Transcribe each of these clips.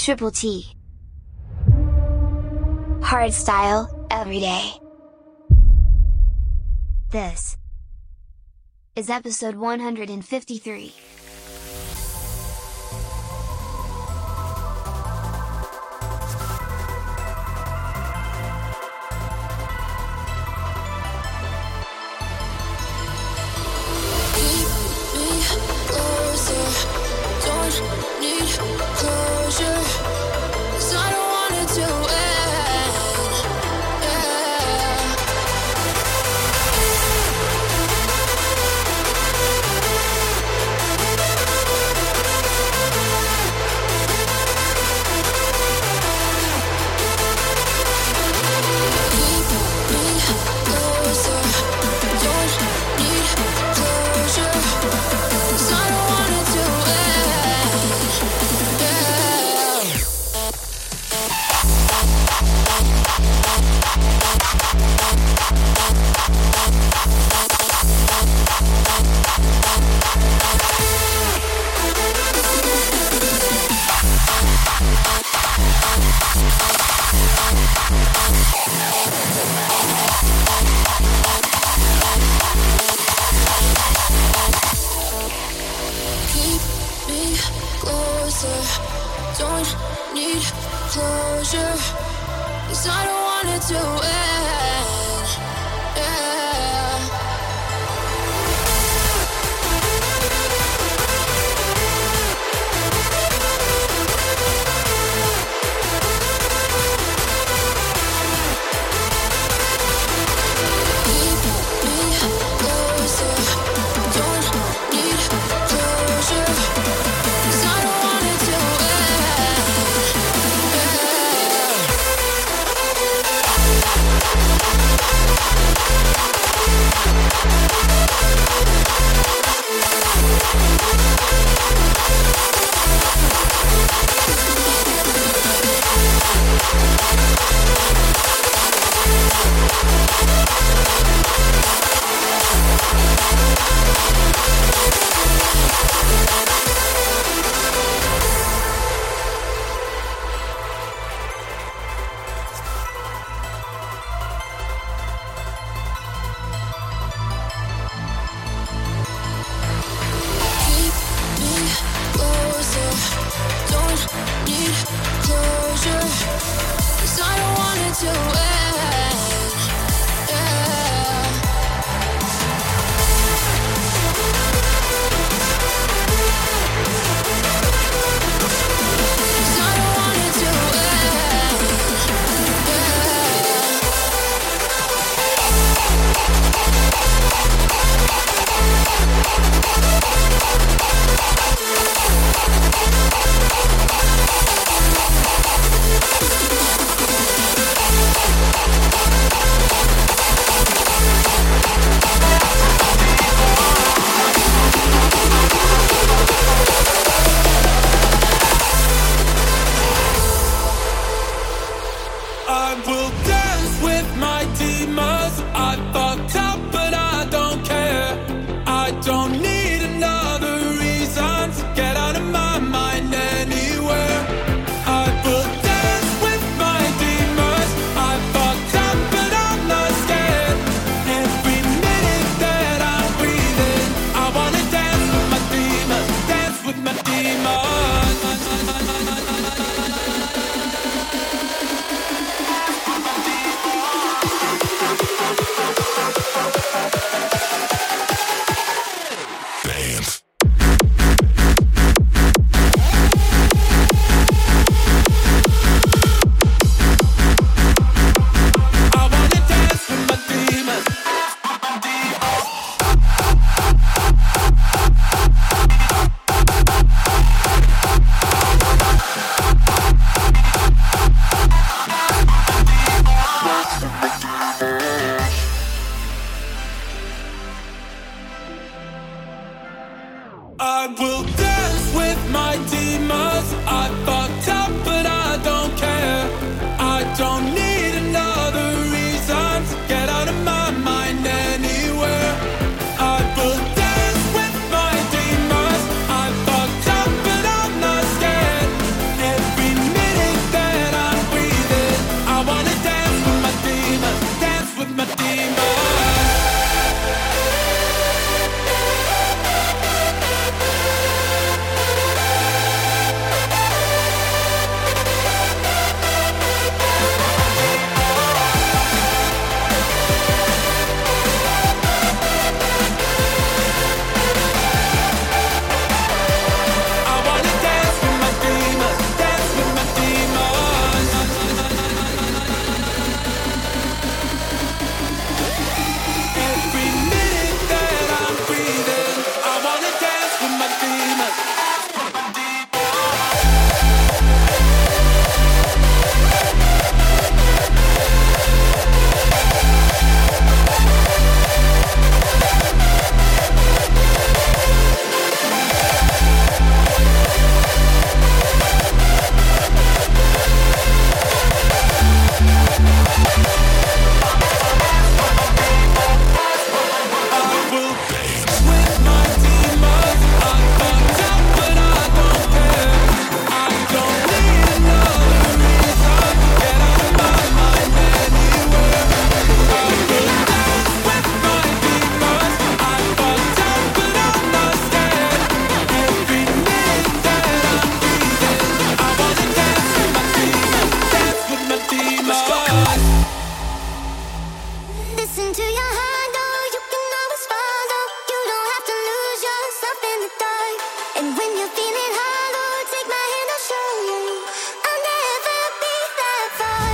Triple T. Hardstyle, every day. This is episode 153. But Listen to your heart, no, you can always follow. You don't have to lose yourself in the dark. And when you're feeling hollow, take my hand, I'll show you. I'll never be that far.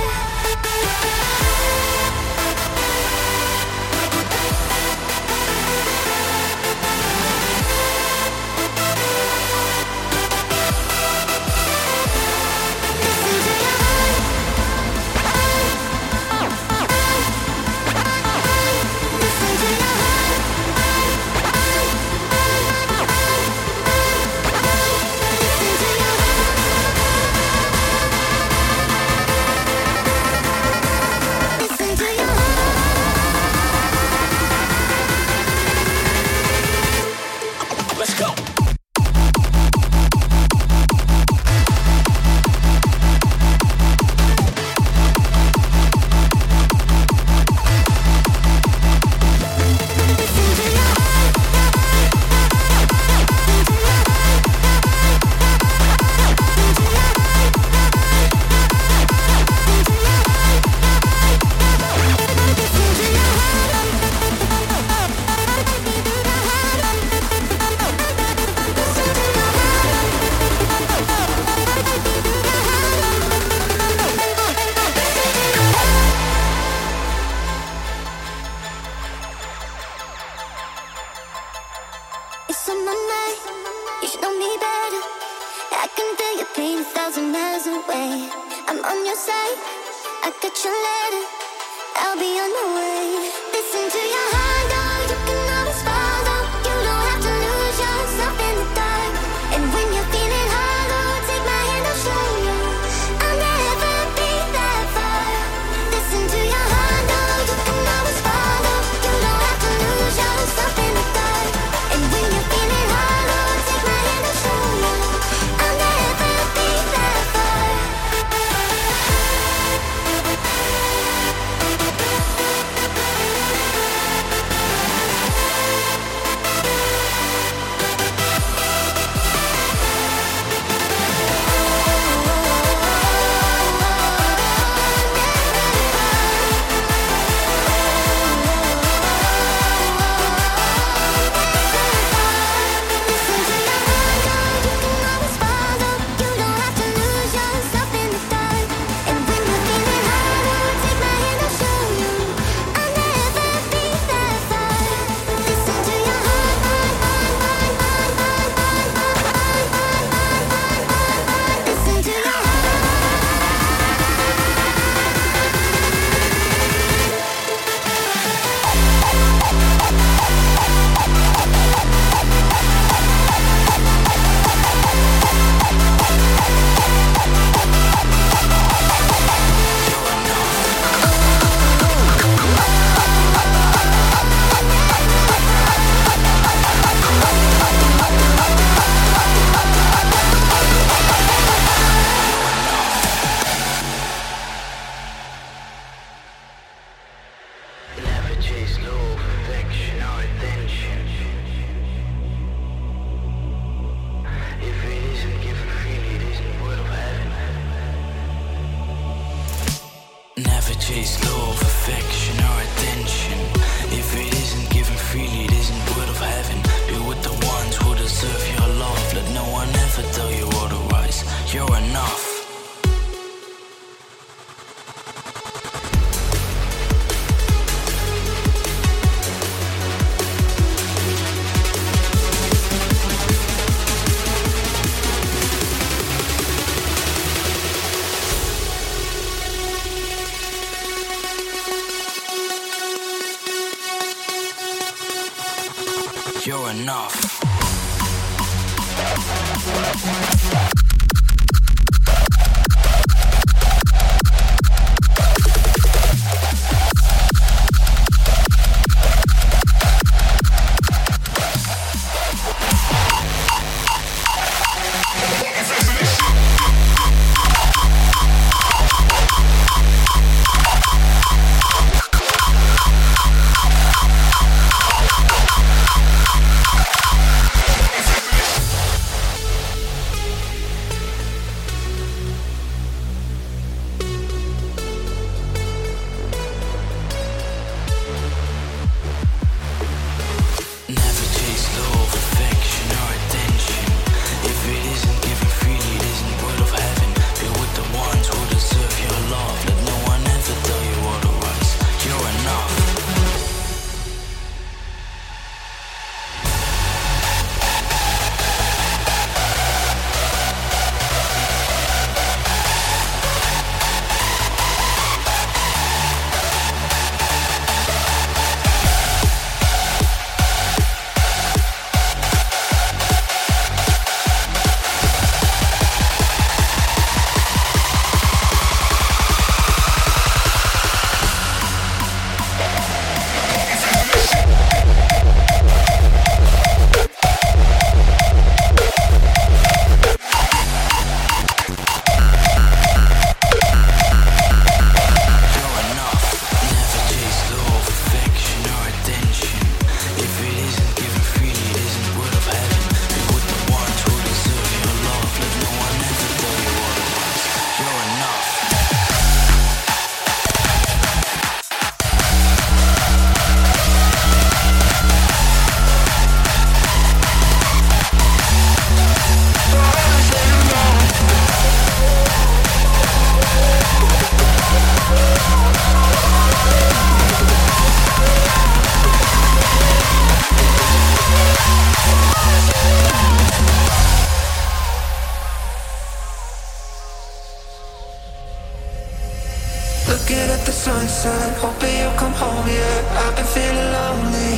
It's on my mind, you should know me better. I can feel your pain 1,000 miles away. I'm on your side, I got your letter, I'll be on my way. Listen to your heart, no, you can always follow. You don't have to lose yourself in the dark. And when you're feeling hollow, take my hand, I'll show you. I'll never be that far. Listen to your heart, no, you can always follow. You don't have to lose yourself in the dark. And when you're feeling hollow, take my hand, I'll show you. I'll never be that far. Chase love, affection, or attention. If it isn't given freely, it isn't word of heaven. Be with the ones who deserve your love. Let no one ever tell you otherwise. You're enough. You're enough. sunset, hoping you'll come home, yeah. I've been feeling lonely.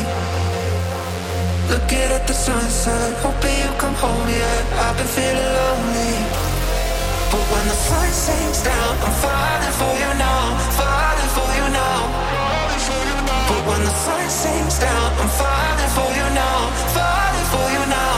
Looking at the sunset, hoping you'll come home, yeah. I've been feeling lonely. But when the sun sinks down, I'm falling for you now, falling for you now. But when the sun sinks down, I'm falling for you now, falling for you now.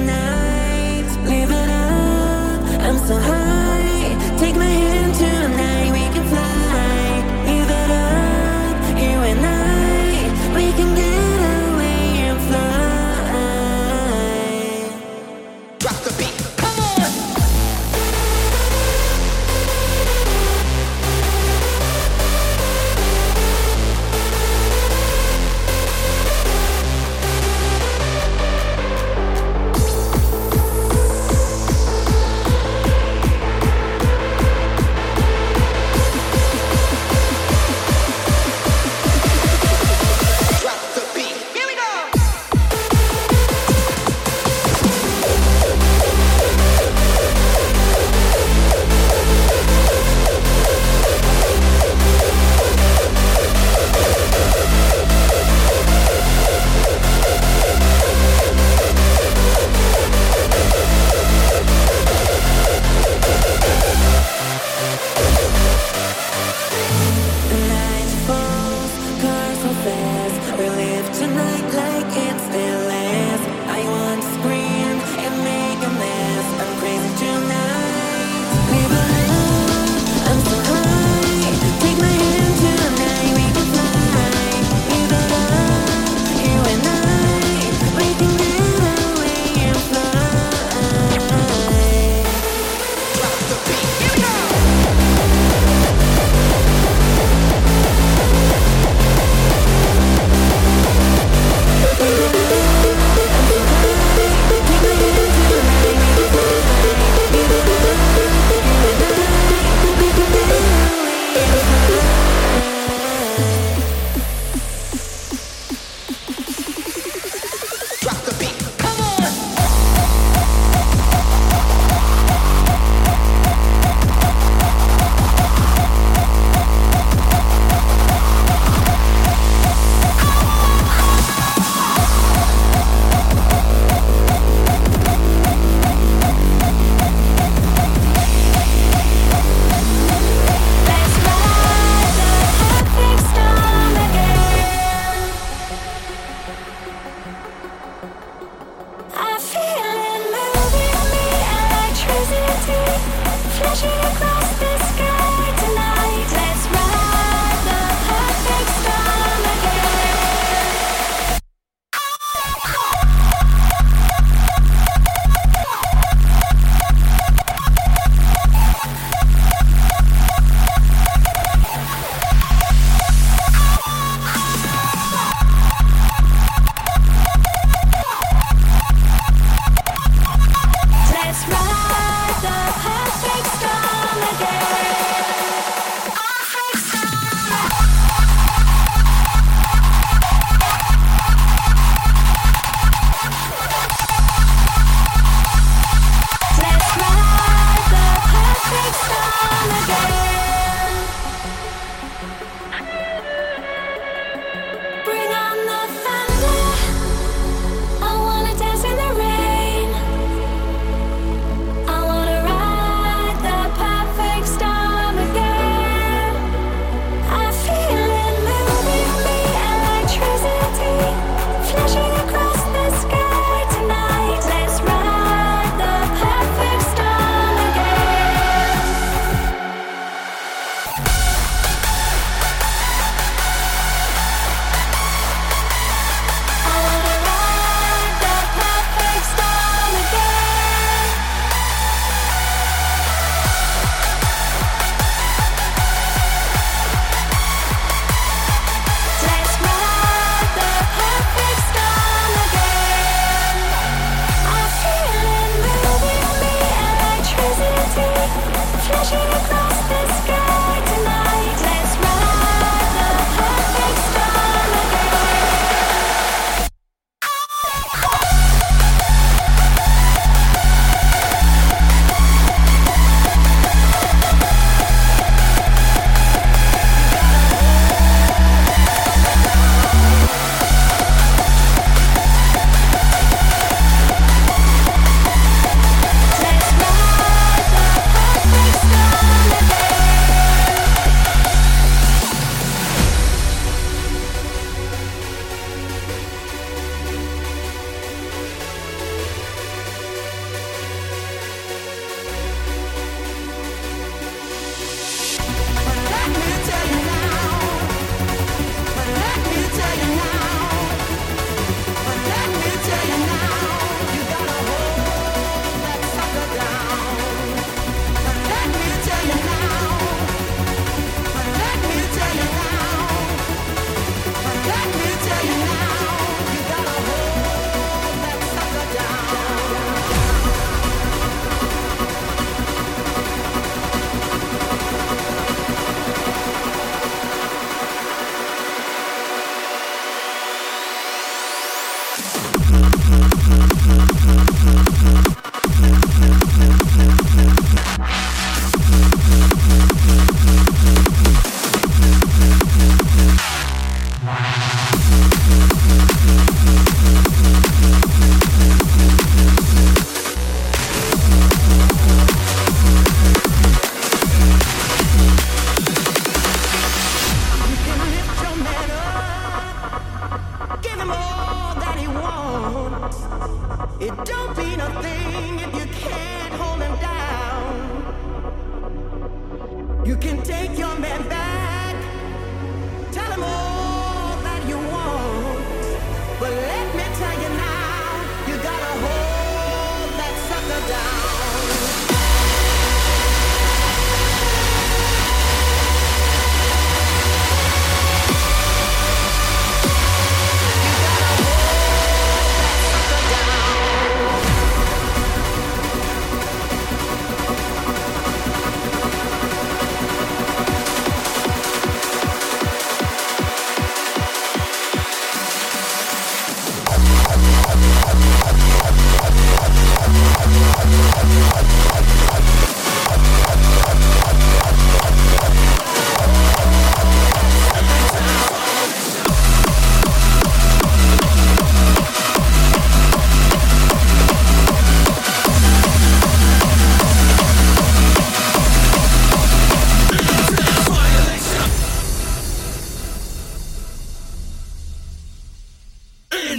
so high. Take my hand tonight.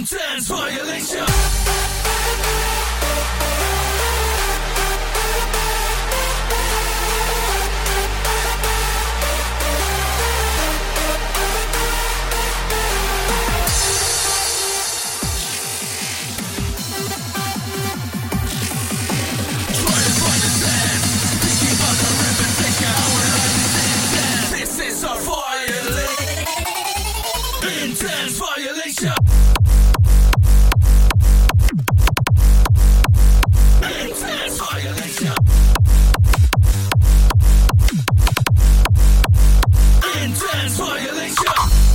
Intense violation. Intense violation. Intense violation. Intense violation.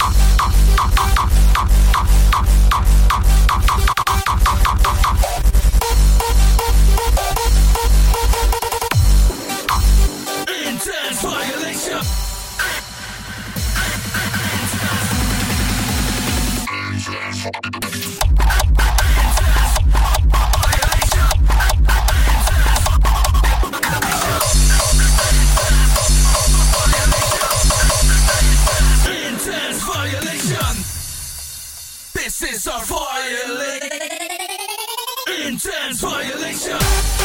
Intense violation. Intense violation. This is our violation. Intense violation.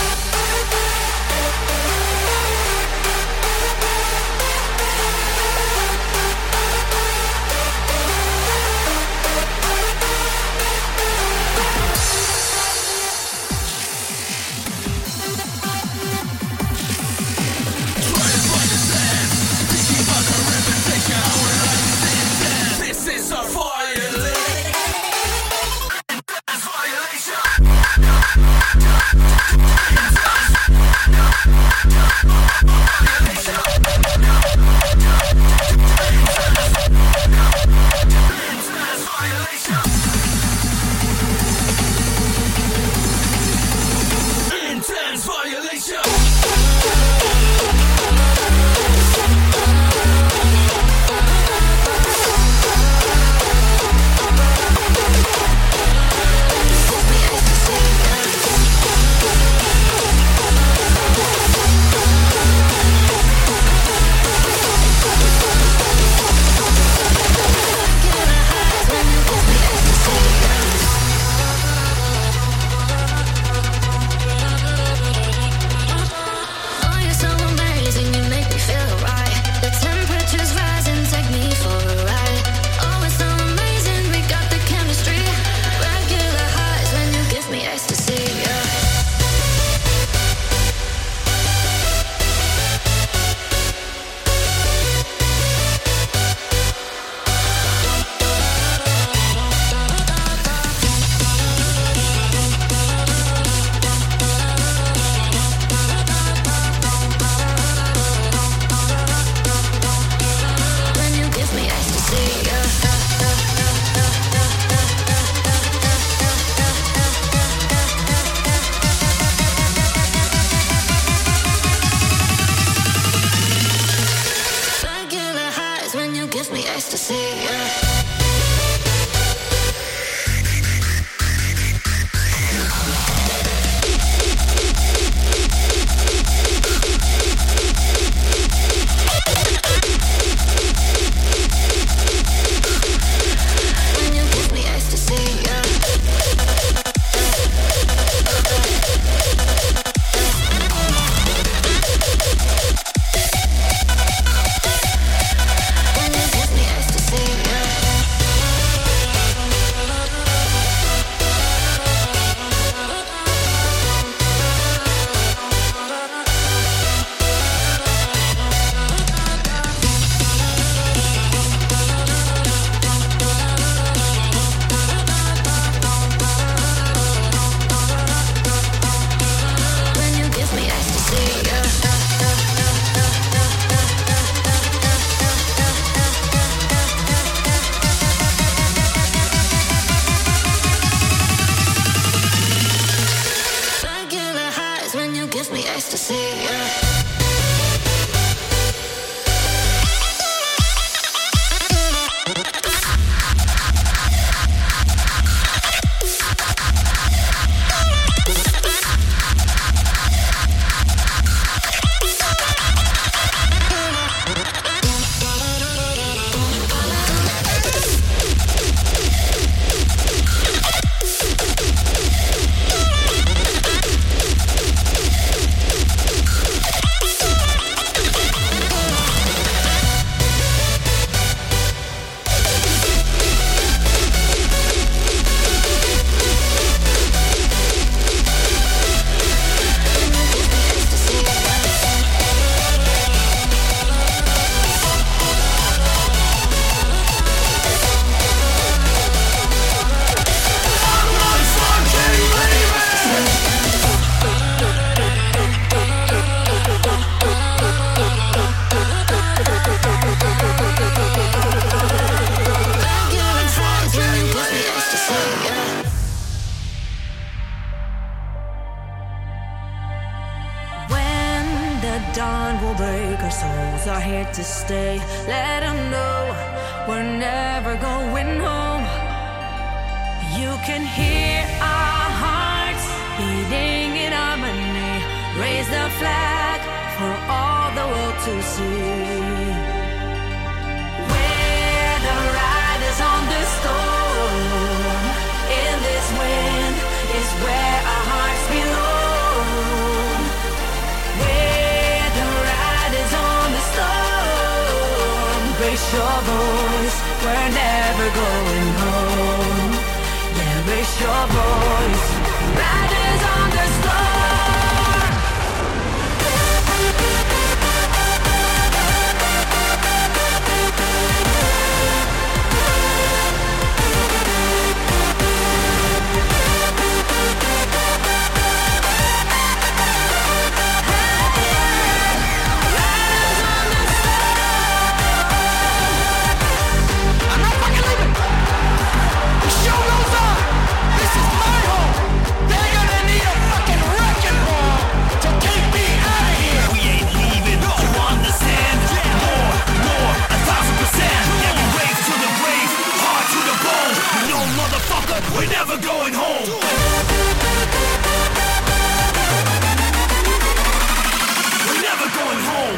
This is our violation. Intense violation. are here to stay. Let them know we're never going home. You can hear our hearts beating in harmony. Raise the flag for all the world to see. We're the riders on the storm. In this wind is where our hearts belong. We're the riders on the storm. Raise your voice, we're never going home. Yeah, raise your voice. Riders on the storm. We're never going home. We're never going home.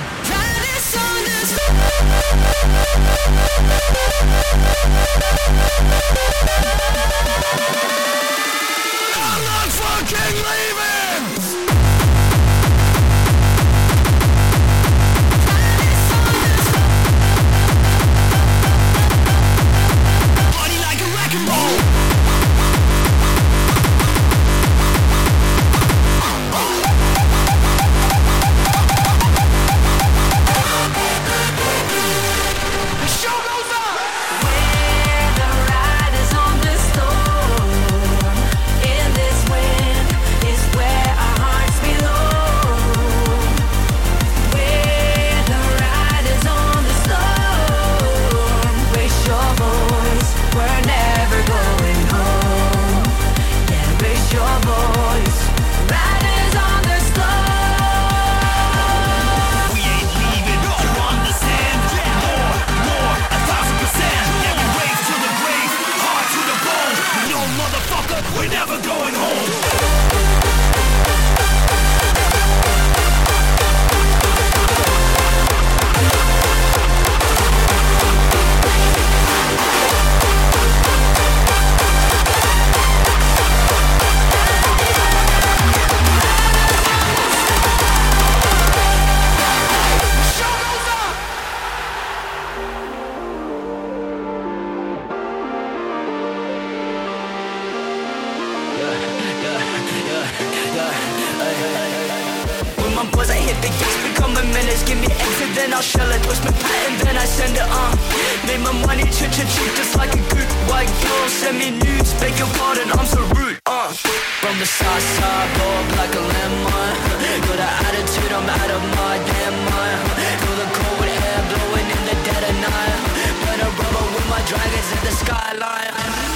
I'm not fucking leaving. Body like a wreck and roll. We're never going home. When my boys, I hit the gates, become a menace. Give me exit, then I'll shell it. Twist my pattern, then I send it on. Made my money cheap, just like a good white girl. Send me nudes, beg your pardon, I'm so rude. From the side, blow up like a lemon. Got an attitude, I'm out of my damn mind. Feel the cold air blowing in the dead of night. Burn a rubber with my dragons in the skyline.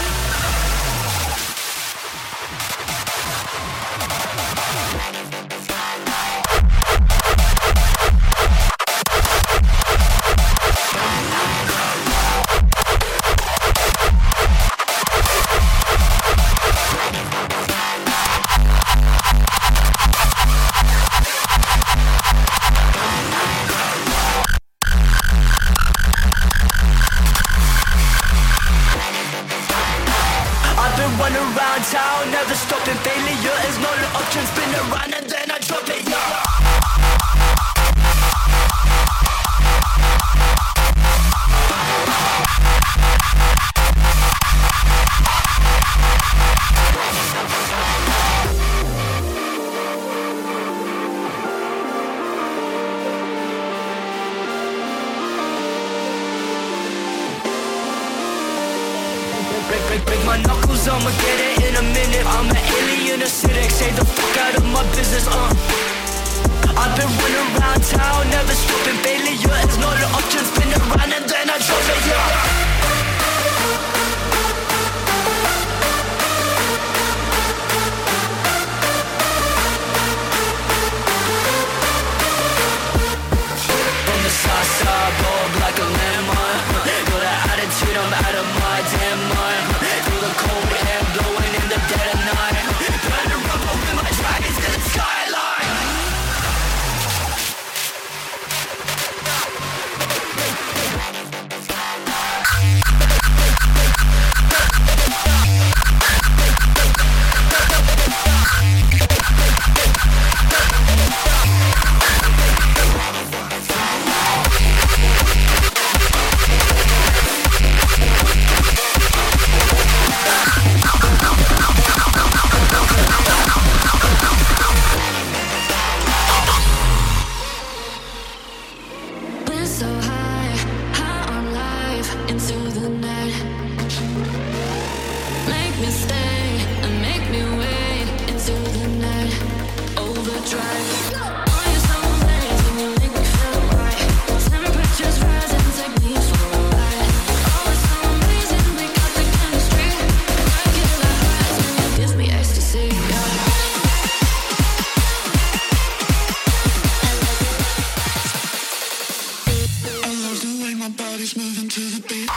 Run around town, never stopping. Failure is not an option. Spin around and then I drop it, yeah. Break my knuckles, I'ma get it in a minute. I'm an alien acidic, say the fuck out of my business, I've been running around town, never stopping. Failure is not an option. Spin around and then I drop it, yeah. From the side. into the night. Make me stay and make me wait into the night. Overdrive. All your summer days when you make me feel right. Temperatures rising, take me for a ride. Oh, it's so amazing, we got the chemistry. I get like highs when you give me ecstasy. I love the way my body's moving to the beat.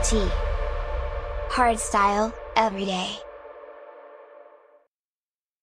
Hardstyle, every day.